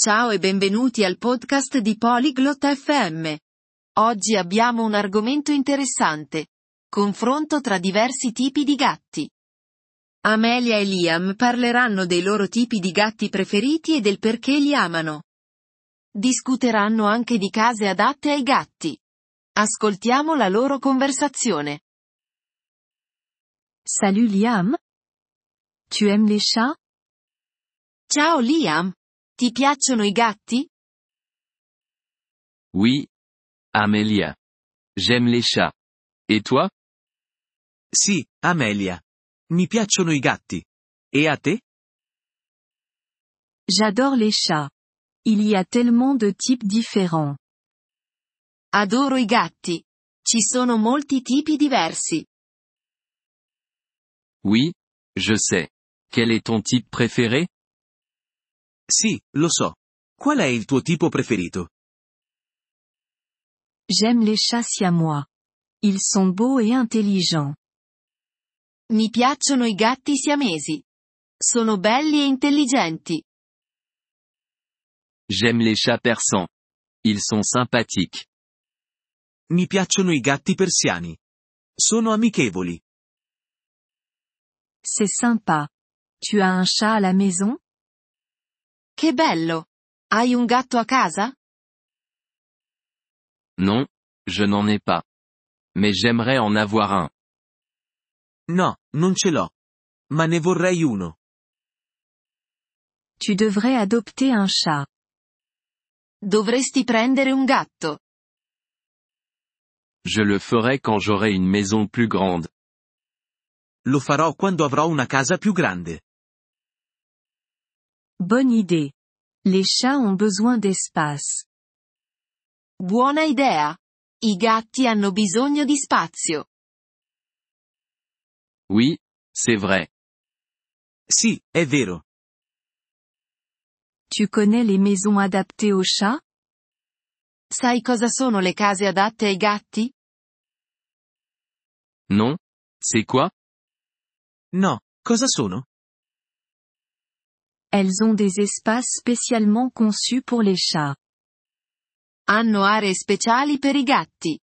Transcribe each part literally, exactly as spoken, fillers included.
Ciao e benvenuti al podcast di Polyglot F M. Oggi abbiamo un argomento interessante. Confronto tra diversi tipi di gatti. Amelia e Liam parleranno dei loro tipi di gatti preferiti e del perché li amano. Discuteranno anche di case adatte ai gatti. Ascoltiamo la loro conversazione. Salut Liam. Tu aimes les chats? Ciao Liam. Ti piacciono i gatti? Oui. Amelia. J'aime les chats. Et toi? Sì, Amelia. Mi piacciono i gatti. E a te? J'adore les chats. Il y a tellement de types différents. Adoro i gatti. Ci sono molti tipi diversi. Oui, je sais. Quel est ton type préféré? Sì, lo so. Qual è il tuo tipo preferito? J'aime les chats siamois. Ils sont beaux et intelligents. Mi piacciono i gatti siamesi. Sono belli e intelligenti. J'aime les chats persans. Ils sont sympathiques. Mi piacciono i gatti persiani. Sono amichevoli. C'est sympa. Tu as un chat à la maison? Che bello! Hai un gatto a casa? Non, je n'en ai pas. Mais j'aimerais en avoir un. No, non ce l'ho. Ma ne vorrei uno. Tu devrais adopter un chat. Dovresti prendere un gatto. Je le ferai quand j'aurai une maison plus grande. Lo farò quando avrò una casa più grande. Bonne idée. Les chats ont besoin d'espace. Buona idea. I gatti hanno bisogno di spazio. Oui, c'est vrai. Sì, è vero. Tu connais les maisons adaptées aux chats? Sai cosa sono le case adatte ai gatti? Non? C'est quoi? No, cosa sono? Elles ont des espaces spécialement conçus pour les chats. Hanno aree speciali per i gatti.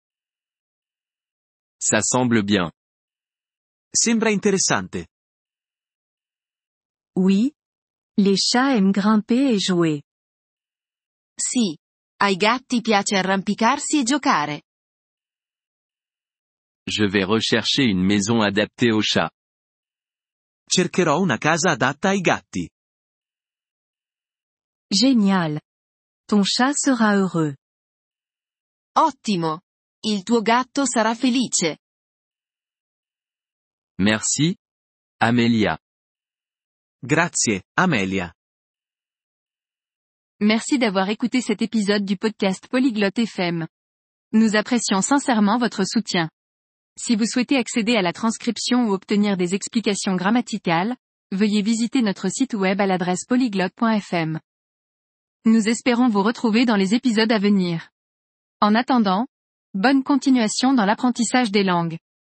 Ça semble bien. Sembra interessante. Oui. Les chats aiment grimper et jouer. Sì. Ai gatti piace arrampicarsi e giocare. Je vais rechercher une maison adaptée aux chats. Cercherò una casa adatta ai gatti. Génial. Ton chat sera heureux. Ottimo. Il tuo gatto sarà felice. Merci, Amelia. Grazie, Amelia. Merci d'avoir écouté cet épisode du podcast Polyglotte F M. Nous apprécions sincèrement votre soutien. Si vous souhaitez accéder à la transcription ou obtenir des explications grammaticales, veuillez visiter notre site web à l'adresse polyglotte point f m. Nous espérons vous retrouver dans les épisodes à venir. En attendant, bonne continuation dans l'apprentissage des langues.